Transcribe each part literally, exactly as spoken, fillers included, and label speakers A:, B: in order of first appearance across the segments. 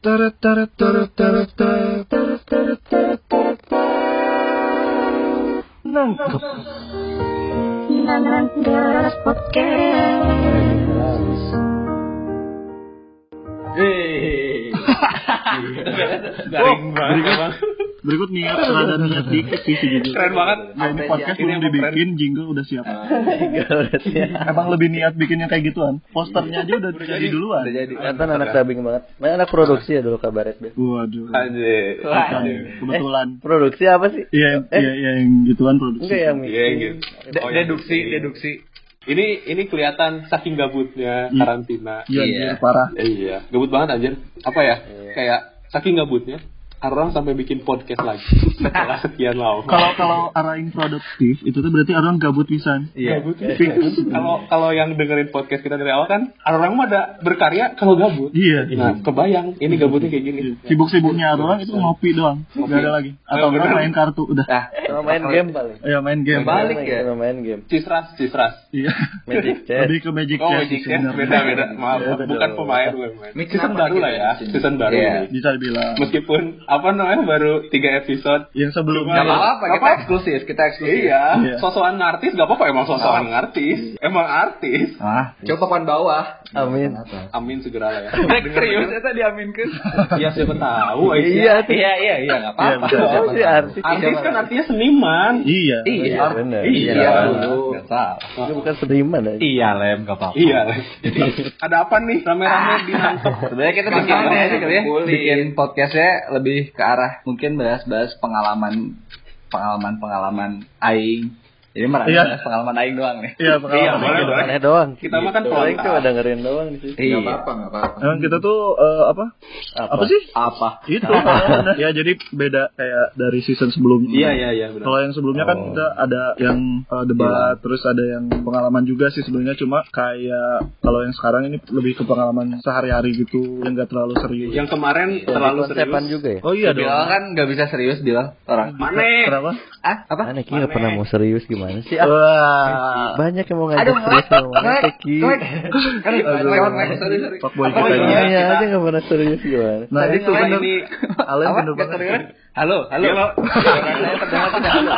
A: Tarat tarat tarat tarat tarat tarat tarat tarat tarat nangkep
B: Nandas Podcast.
C: Hei,
A: garing banget. Berikut niat rada niat dikit sih sejujurnya.
C: Keren banget.
A: Nah, ini podcast belum dibikin, jingle udah siap.
D: Jingle udah siap.
A: Emang lebih niat bikinnya kayak gituan. Posternya aja udah, udah jadi duluan.
D: Udah jadi. Kan anak dubbing banget. Mana anak produksi ya dulu kabaret deh.
A: Waduh.
C: Anjir.
A: Kebetulan.
D: Eh, produksi apa sih?
A: Iya,
D: eh?
A: iya, iya yang gituan produksi.
D: Enggak yang
C: Iya, gitu.
E: De- deduksi, deduksi.
C: Ini ini kelihatan saking gabutnya
A: Iya.
C: karantina.
A: Iya, iya, parah.
C: Iya, gabut banget anjir. Apa ya?
D: Iya.
C: Kayak saking gabutnya orang sampai bikin podcast lagi setelah sekian lama.
A: Kalau kalau arahin produktif itu tuh berarti orang gabut pisan.
C: Iya. Kalau kalau yang dengerin podcast kita dari awal kan orang mah ada berkarya kalau gabut.
A: Iya.
C: Nah, kebayang ini gabutnya kayak gini.
A: Sibuk-sibuknya orang itu ngopi doang. Enggak ada lagi. Atau
C: Oh, bener.
A: main kartu udah.
D: Nah, sama main game paling.
A: Ya main game.
E: Balik ya?
D: Sama main game.
C: Cisras, cisras.
A: Iya.
D: Magic Chess.
A: Lebih ke Magic
C: Oh,
A: Chess.
C: Magic
A: sih
C: Chess
A: sebenarnya.
C: beda-beda. Maaf,
D: Beda
C: bukan
D: dong.
C: pemain, bukan pemain.
E: Mix
C: Season
E: apa
C: baru
E: gitu
C: lah ya,
E: di sini?
C: season baru
E: Iya.
C: nih.
A: Bisa dibilang.
C: Meskipun apa namanya baru tiga episode.
A: Yang sebelumnya.
E: Gak apa-apa, kita
C: Apa?
E: eksklusif, kita eksklusif.
C: Iya,
A: Iya.
C: sosokan ngartis gak apa-apa emang sosokan ngartis. Emang artis.
E: Ah, coba papan bawah.
D: Amin.
C: Amin segera lah ya.
E: Serius itu diaminkan.
C: Ya siapa tahu Aisyah.
D: Iya,
E: Iya, iya, iya, enggak apa-apa.
A: Iya,
D: Oh, si artis.
C: Artis kan artinya seniman.
A: Iya.
D: Iya,
C: Art-
D: benar.
C: Iya.
E: Iya, dulu. Enggak salah.
D: Itu bukan seniman aja.
E: Iya, Lem, enggak apa-apa.
C: Iya. Jadi ada apa nih rame-rame dinangkep?
E: Sebenarnya kita bikin
C: Gimana
E: ini
C: ya,
E: kali ya,
C: kumpulin.
E: bikin podcastnya lebih ke arah mungkin bahas-bahas pengalaman pengalaman-pengalaman aing. Jadi merasa
A: Iya.
E: bahas pengalaman aing doang nih.
A: Iya,
C: Iya,
A: pengalaman.
C: boleh, boleh.
D: Aneh doang.
C: Kita mah kan
D: Paling
C: pelengkap.
D: cuma dengerin doang di situ.
E: Iya.
F: Enggak apa-apa.
A: Emang kita tuh eh, apa? Apa sih?
E: Apa?
A: Itu. Ya jadi beda kayak dari season sebelumnya.
C: Iya, iya, iya, benar.
A: Kalau yang sebelumnya kan
D: Oh.
A: kita ada yang eh, debat, terus ada yang pengalaman juga sih sebelumnya. Cuma kayak kalau yang sekarang ini lebih ke pengalaman sehari-hari gitu, yang gak terlalu serius.
C: Yang kemarin
D: Jadi
C: terlalu
D: konsepan
C: serius.
D: juga ya?
A: Oh iya dong.
E: Bilal kan nggak bisa serius Bilal orang.
C: Mana?
A: Kenapa?
E: Ah, apa?
D: Aneh Ki nggak pernah mau serius gimana sih? Ah,
A: Wah.
D: banyak yang mau ngajak
E: Aduh,
D: serius sama
E: Mek,
D: mana Ki.
E: Mek. Kan lewat Mek, sorry, sorry.
A: Fuckboy
E: Apa
A: kita
E: lagi?
A: ini.
D: Iya
C: kita-
D: aja nggak pernah serius gimana?
A: Nah
C: Tadi
A: itu
C: selain
A: bener.
C: ini
A: Alen
E: Apa?
A: bener
E: Nggak
A: banget.
E: terdengar? Halo, halo.
C: Halo.
E: Saya terdengar tidak halo.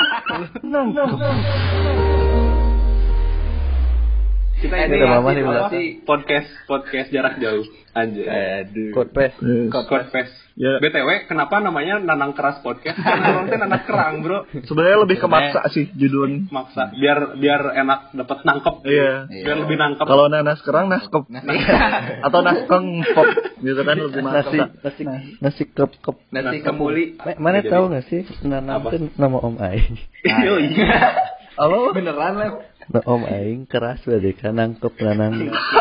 C: Kita
E: Eh,
C: ini
D: udah mama
C: apa
D: nih, Bang.
C: sih? podcast podcast jarak jauh. Anjir.
E: Aduh.
D: Code pes.
A: Eh,
C: Podcast.
A: Ya.
C: B T W kenapa namanya Nanang Keras Podcast? Karena orang teh nanak kerang, Bro.
A: Sebenarnya lebih ke maksa sih judulnya.
C: Maksa biar biar enak dapat nangkep.
A: Iya.
C: Biar lebih nangkep.
A: Kalau nanas kerang naskep atau naskeng pop gitu kan lebih
D: Nasi
A: maksa.
D: nasi nasi kep kep.
E: Nasi kembuli.
D: Ma- Mana
C: Jadi-
D: tahu nggak sih Nanam
C: Apa?
D: itu nama Om Aing.
C: Iya.
A: Halo.
E: Beneran Lem.
D: Nah, Om Aing keras berarti kan nangkep nanang.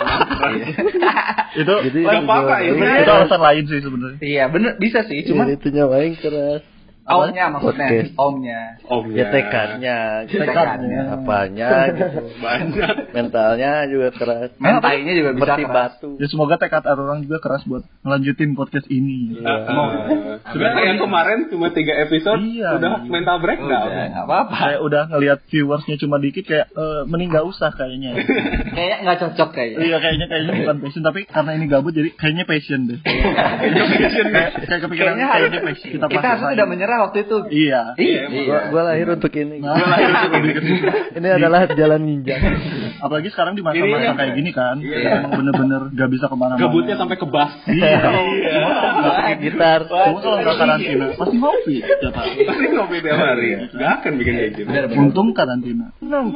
A: Itu
D: Jadi
C: Gak apa-apa,
D: itu
C: itu
A: itu alasan lain sih sebenarnya.
E: Iya, bener bisa sih,
D: Cuma
E: cuman
D: itu nyawa Aing keras.
E: omnya maksudnya,
D: Podcast.
E: omnya.
C: Omnya.
D: Ya tekadnya,
E: Tekadnya.
D: apanya gitu.
C: Banyak.
D: Mentalnya juga keras.
E: Mentainya juga bisa
D: Seperti
E: keras.
D: batu.
A: Ya semoga tekad orang juga keras buat ngelanjutin podcast ini.
D: Iya.
C: Sebenarnya yang kemarin cuma tiga episode
A: Iya.
C: udah mental breakdown.
E: Udah, nggak apa-apa.
A: Kayak udah ngelihat viewersnya cuma dikit kayak eh, mending gak usah kayaknya.
E: Kayaknya nggak cocok kayaknya.
A: Iya kayaknya kayaknya bukan passion tapi karena ini gabut jadi kayaknya passion deh. kayak kayak kepikiran
E: Kayaknya
A: kayaknya
E: harus-
A: passion kita
E: kita
A: pakai
E: harusnya tidak menyerah waktu itu.
A: Iya.
E: Iya,
D: Gua, gua lahir untuk ini.
A: Nah, lahir untuk lebih kecil.
D: Ini adalah jalan ninja.
A: Apalagi sekarang di
C: Ini
A: masa-masa
C: ya.
A: kayak gini kan,
C: Iya.
A: emang bener-bener gak bisa kemana-mana.
C: Gabutnya sampai ke bass.
A: Iya.
D: Pakai gitar.
A: Cuma kalau nggak karantina pasti ngopi tiap hari.
C: Pasti ngopi tiap hari. Gak akan bikin kayak gitu.
A: Untung karantina.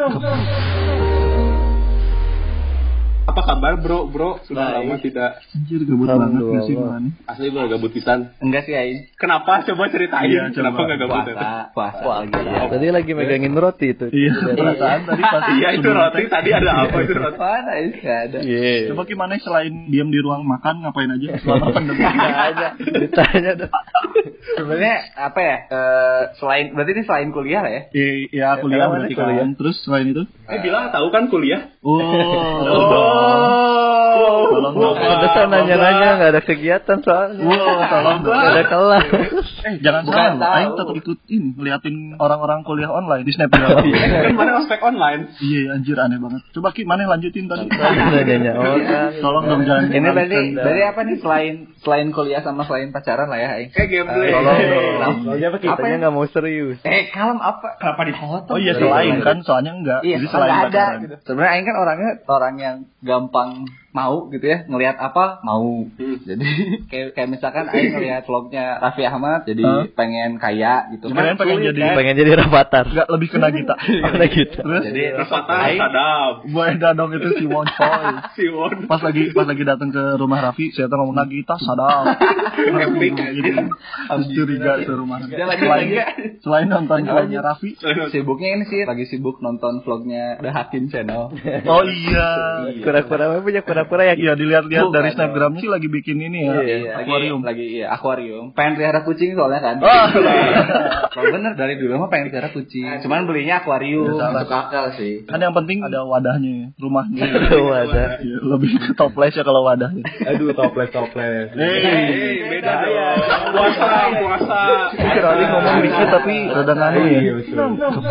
C: Apa kabar bro? Bro sudah
E: Baik.
C: lama tidak.
A: Anjir gabut banget gak sih
D: Alhamdulillah.
A: mana?
C: Asli bro gabut pisan.
E: Enggak sih Ain.
C: Kenapa? Coba ceritain.
A: Iya, coba.
C: Kenapa nggak gabut?
E: Puasa, puasa lagi.
D: Tadi lagi megangin roti itu.
A: Iya, perasaan tadi pas
C: Iya itu
A: sebelum
C: roti
A: tag.
C: tadi ada apa itu roti?
E: Mana Ain? Nggak ada.
D: Iya.
A: Coba gimana selain diam di ruang makan ngapain aja selama pandemi?
D: Nggak ada. Ditanya dong.
E: Sebenarnya apa ya? Eh, selain berarti ini selain kuliah lah ya.
A: Iya, ya kuliah
D: Emang
A: berarti
D: kuliah?
A: kan. Terus selain itu?
C: Eh bilang tahu kan kuliah?
A: Oh. Tolong dong.
D: Pantesan nanya-nanya nggak ada kegiatan soalnya.
A: Wow, tolong dong.
D: Nggak ada kelas.
A: Eh, jangan
E: Bukan
A: salah,
E: tahu.
A: Aing tetap ikutin ngeliatin orang-orang kuliah online di Snapgram.
C: Kan mana ospek online?
A: Iya, anjir aneh banget. Coba Ki, mana yang lanjutin tadi?
D: Nanya orang.
A: Tolong dong jangan.
E: Ini tadi
A: mengalihkan.
E: dari apa nih selain selain kuliah sama selain pacaran lah ya, Aing.
C: Kayak gameplay.
A: Tolong dong.
D: Soalnya apa kitanya nggak mau serius.
E: Eh, kalem apa? Kenapa dipotong?
A: Oh iya, selain kan soalnya enggak.
E: Iya,
A: Jadi
E: selain
A: selain
E: ada
A: pacaran.
E: gitu. Sebenarnya Aing kan orangnya orang yang gampang mau gitu ya, ngelihat apa mau. Jadi kayak kayak misalkan Aing ngelihat vlognya Raffi Ahmad jadi
A: Huh?
E: pengen kaya gitu.
A: Gimana
E: Kan
A: pengen
E: sulit,
A: jadi-
E: kan?
D: Pengen jadi rapatar.
A: Enggak lebih kena kita.
D: Mana gitu.
A: Terus
E: Jadi
C: Rafathar
E: Aing
C: sadap.
A: Boy Dadong itu si Won Choi.
C: Siwon.
A: Pas lagi pas lagi datang ke rumah Raffi, saya tuh ngomong Nagita sadap.
C: Epic,
A: Gitu. Terus curiga ke rumah.
E: Dia lagi
A: Selain
E: lagi.
A: selain nonton vlognya Raffi.
E: Sibuknya ini sih lagi sibuk nonton vlognya The Hakim Channel.
A: Oh iya.
D: Kura-kura apa punya kura-kura ya?
A: Iya dilihat-lihat
E: Bukan
A: dari
E: dong.
A: Snapgramnya sih lagi bikin ini ya.
E: Iya,
A: Akuarium.
E: lagi, lagi iya akuarium. Pengen pelihara kucing soalnya kan.
A: Oh.
E: Kalau bener dari dulu mah pengen pelihara kucing. Cuman belinya akuarium.
A: Ya, salah.
E: Masuk akal sih.
A: Kan yang penting ada wadahnya ya, rumahnya.
D: Wadah.
A: Iya, lebih ke toples ya kalau wadahnya.
B: Aduh, toples toples.
C: Hei, beda dong. Puasa, puasa.
A: Kali ngomong dikit tapi rada nganu ya.
B: Iya, betul.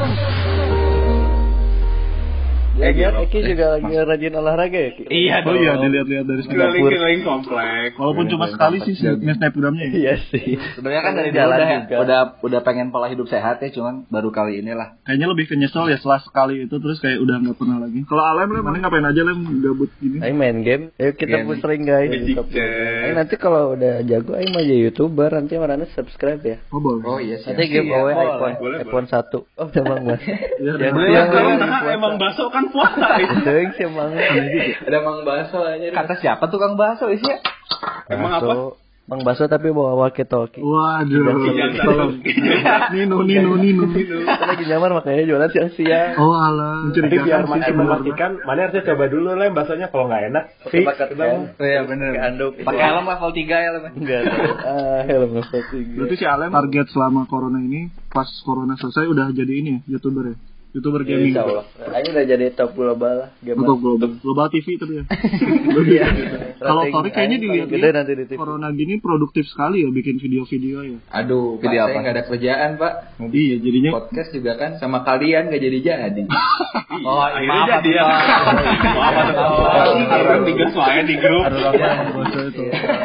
D: Ya, lihat Eki juga lagi rajin olahraga ya, Ki?
E: Iya
A: Oh iya dilihat-lihat dari Snapgram.
C: Keliling-keliling komplek.
A: Walaupun cuma sekali sih Snapgramnya ya.
D: Iya sih.
E: Sebenarnya kan dari dulu
D: Jalan
E: udah,
D: juga.
E: udah udah pengen pola hidup sehat ya, cuman baru kali inilah.
A: Kayaknya lebih ke nyesel ya setelah sekali itu terus kayak udah nggak pernah lagi. Kalau Alem Lem, mana ngapain aja Lem gabut gini?
D: Ayo main game. Ayo kita
E: Game.
D: pusing guys.
C: Magic
D: Ayo
C: Chat.
D: nanti kalau udah jago ayo mau jadi YouTuber, nanti marahnya subscribe ya.
A: Oh boleh.
E: Oh iya sih.
D: Nanti giveaway
E: Iya,
D: iPhone,
C: boleh,
D: iPhone satu. Oh, emang Mas.
A: Iya,
D: Yang
A: udah.
D: yang
C: Kalau
D: yang
C: nah, emang bakso kan puasa.
D: Deung sih emang.
E: Ada Mang Baso aja. Kata siapa tukang bakso isi?
C: Emang apa?
D: Bakso, Mang Baso tapi bawa walkie-talkie.
A: Waduh.
C: Jangan
A: Tolong. Nino Nino Nino.
D: Kita lagi nyamar makanya jualan siang-siang.
A: Oh alah.
B: Jadi
A: Mencurigakan
B: biar
A: sih
B: makin
A: sebenarnya.
B: memastikan, mana harusnya coba dulu lah bahasanya kalau nggak enak. Fix.
E: Oh iya bener.
D: Ke anduk.
E: Pakai helm level tiga ya Lem.
D: Enggak. Ah, helm level tiga.
A: Berarti si Alem target selama corona ini pas corona selesai udah jadi ini ya, YouTuber ya. YouTuber gaming.
D: Insya Allah. Ayo udah jadi top global lah. Gamer.
A: Atau global, global T V tapi ya.
D: Iya.
A: Kalau
D: Strategi
A: Tori kayaknya
D: aing paling
A: dilihat
D: gede nanti di T V.
A: corona gini produktif sekali ya bikin video-video ya.
E: Aduh,
D: Video
E: Pak,
D: apa?
E: saya nggak ada kerjaan Pak.
A: Iya jadinya.
E: Podcast juga kan sama kalian nggak jadi jadi.
C: Oh, akhirnya jadi ya. Maaf, Karena di gas wae di grup.
A: Ada orang yang bocor itu.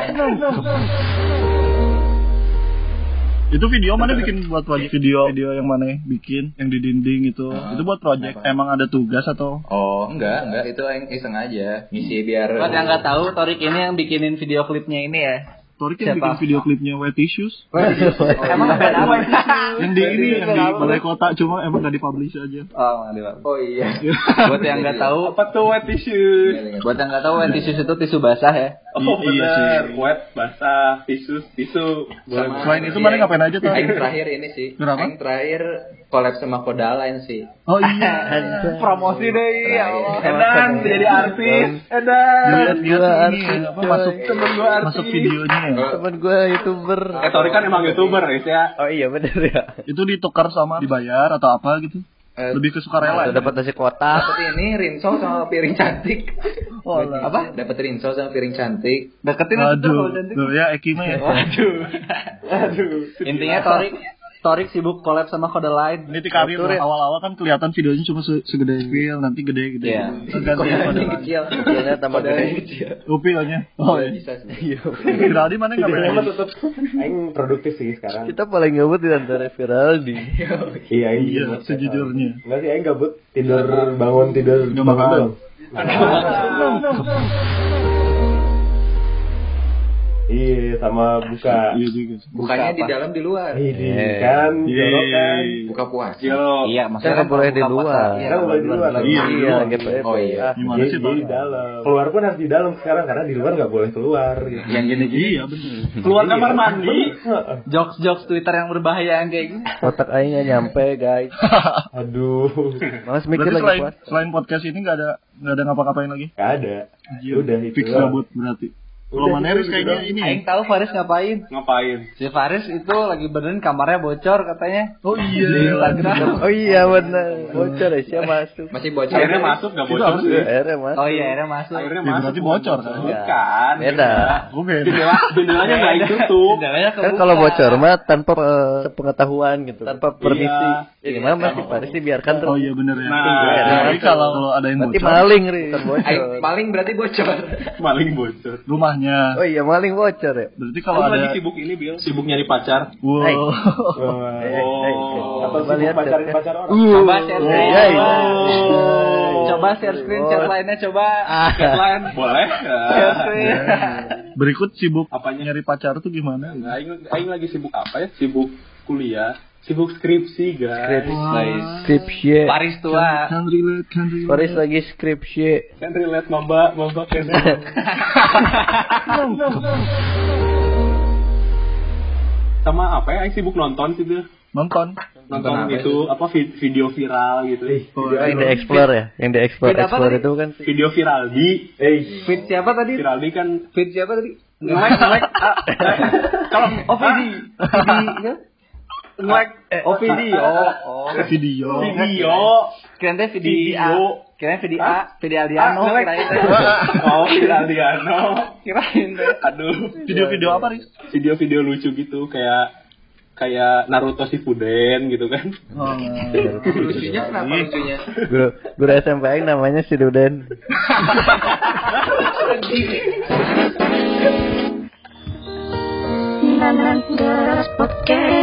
A: Itu video mana bikin buat project video video yang mana bikin yang di dinding itu
E: Ah,
A: itu buat project
E: kenapa?
A: emang ada tugas atau
E: Oh, enggak, enggak, itu yang iseng aja. Ngisi biar. Buat yang nggak tahu, Torik ini yang bikinin video klipnya ini ya.
A: Tori kan
E: Siapa?
A: bikin video klipnya Wet Tissues
E: Emang band apa itu?
A: yang di ini yang di balai kota cuma emang gak dipublish aja.
E: Oh, oh iya. Buat yang nggak tahu,
C: Apa tuh wet tissue?
E: buat yang nggak tahu, wet tisu itu tisu basah ya.
C: Oh
A: Iya
C: benar,
A: sih.
C: wet, basah, tisu, tisu.
E: Sama-
A: Selain itu mana ngapain aja tuh?
E: Aing terakhir ini sih.
A: Kenapa?
E: Aing terakhir collab sama Kodaline sih.
A: Oh iya.
E: Promosi deh ya Allah.
C: Edan jadi artis. Edan.
A: Lihat
D: Gua
A: lihat ini
D: artis,
A: apa
D: coy.
A: masuk
C: Temen gua artis.
A: masuk videonya ya.
D: Temen gue YouTuber.
C: Eh, Tori kan emang YouTuber ya.
D: Oh iya bener ya.
A: Itu ditukar sama dibayar atau apa gitu?
E: Eh,
A: Lebih ke sukarela.
D: Udah dapat nasi kotak.
E: Dapat ini rinso sama piring cantik.
A: Oh, alah.
E: Apa? Dapat rinso sama piring cantik. Deketin aja
A: Aduh,
E: kalau cantik.
A: tuh ya Eki mah ya.
C: Aduh. Aduh.
E: Intinya Torik Torik sibuk collab sama Kodaline.
A: Ini di karir
D: Atur ya.
A: awal-awal kan kelihatan videonya cuma se- segede feel, nanti gede-gede.
E: Iya.
A: Tergantung
E: Kodaline
A: pada
E: kecil.
D: Kecilnya tambah
E: Kodaline
D: gede.
E: kecil.
A: Upilnya. Oh iya.
E: Bisa sih.
D: Iya.
A: Viraldi mana
B: Videonya mah
A: ngapain?
B: tetap aing produktif sih sekarang.
D: Kita paling gabut di antara Viraldi.
B: Iya, aing
A: Iya,
B: gabut.
A: sejujurnya.
B: Enggak sih aing gabut, tidur bangun tidur
A: Nggak
B: bangun
A: makan.
B: doang. Iya, sama buka.
A: Iya juga.
E: Bukannya di dalam di luar.
B: Ini kan, jorok kan.
E: Buka puasa.
C: Yo.
E: Iya,
D: Kan nggak boleh di luar.
E: Iya,
B: Kan boleh di luar lagi.
A: Iya,
D: Iya, lagi P P.
E: Oh iya.
A: Gimana
B: Jadi
A: sih,
B: di
A: Pak?
B: dalam. Keluar pun harus di dalam sekarang karena di luar nggak boleh keluar. gitu.
E: Yang gini-gini.
A: Iya, benar.
C: Keluar kamar mandi.
E: Jokes-jokes Twitter yang berbahaya yang kayak gini.
D: Otak aing nggak nyampe guys.
B: Aduh,
D: Mas mikir
A: Berarti
D: lagi
A: selain
D: puas.
A: selain podcast ini nggak ada nggak ada ngapa-ngapain lagi?
B: nggak ada.
A: Anjir,
B: Udah itu.
A: fix gabut berarti. Kalau Maneris kayaknya ini.
E: Aing tahu Faris ngapain.
C: Ngapain?
E: Si Faris itu lagi benerin kamarnya bocor katanya.
A: Oh
E: Di
A: iya.
E: Instagram.
D: Oh iya benar. Bocor ya, siapa masuk.
E: Masih bocor.
C: Akhirnya masuk nggak bocor sih?
D: Akhirnya masuk.
E: Oh iya, akhirnya masuk.
C: Akhirnya
A: Ya,
C: masuk.
A: berarti bocor kan?
C: Bukan.
D: Beda.
A: Oke.
C: Jendela, jendelanya nggak ditutup.
E: Jendelanya
D: Kan
E: kebuka.
D: kalau bocor mah tanpa eh, sepengetahuan gitu, tanpa permisi.
C: Iya.
D: Ya gimana masih Faris dibiarkan terus.
A: Oh iya benar ya.
C: Nah,
A: Jadi kalau kalau ada yang
D: Berarti
A: bocor,
D: maling, Ri, bukan
E: Aing
D: bocor.
E: paling berarti bocor.
C: Maling bocor.
A: rumahnya.
D: Oh iya, maling bocor ya.
A: Berarti
C: Kalau
A: kalau
C: lagi
A: ada.
C: sibuk ini, Bil. Sibuk nyari pacar.
A: Wow.
D: Hey.
C: Oh.
B: Atau
D: Coba
B: sibuk
D: lihat
B: pacarin
D: chat.
B: pacar orang.
E: Coba share
A: Oh.
E: screen.
D: Iya, iya.
E: Coba. Coba share screen chat lainnya coba.
C: Headline boleh?
E: Share screen.
A: Berikut sibuk
C: Apanya?
A: nyari pacar tuh gimana?
C: Nah, Aing, Aing lagi sibuk apa ya? Sibuk kuliah, sibuk skripsi, guys.
D: Skripsi.
E: Paris tua.
A: Can relate, can relate.
D: Faris lagi skripsi.
C: Kan relate maba, maba kan. Sama apa ya? Aing sibuk nonton sih tuh.
A: Nonton.
C: Nonton itu apa vi- video viral gitu.
D: Oh, yang di explore ya, yang di explore
E: Beda apa
D: explore
E: tadi?
D: itu kan.
C: Video viral di
B: Eh,
E: Fit siapa tadi?
C: viral di kan
E: Fit siapa tadi?
C: nge-like nge-like ah, kalau
E: Oh, Vidi. Vidi.
C: nge-like
E: Oh, Vidi. Oh, oh.
A: Video.
C: video
E: Kirain teh Vidi A.
C: Video.
E: Kirain Vidi A, Vidi Aldiano
C: Ah,
E: kirain teh.
C: oh viral Diano.
E: Kirain teh.
C: Aduh,
A: Video-video apa, Riz?
C: video-video lucu gitu kayak kayak Naruto Shippuden gitu kan.
A: Oh,
E: Lucunya kenapa lucunya?
D: Guru guru S M P Aing namanya si Duden.
F: Podcast.